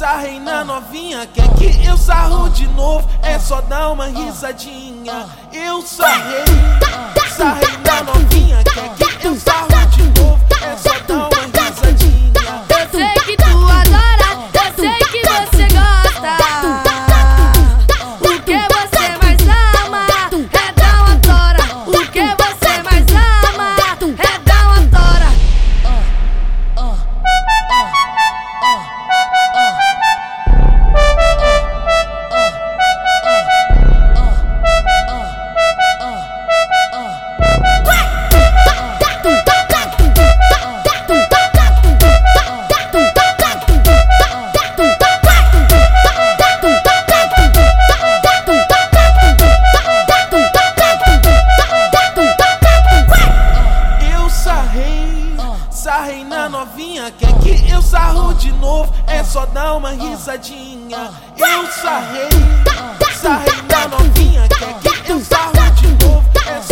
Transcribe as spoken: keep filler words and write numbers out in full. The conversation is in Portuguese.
sarrei na novinha, quer que eu sarro de novo? É só dar uma risadinha. Eu sarrei, sarrei na novinha, quer que eu sarro de novo? É só dar uma risadinha. Eu sei que tu adora, eu sei que você gosta. O que você mais ama é dar uma tora. O que você mais ama é dar uma tora. Sarrei na novinha, quer que eu sarro de novo? É só dar uma risadinha. Eu sarrei, sarrei na novinha, quer que eu sarro de novo? É só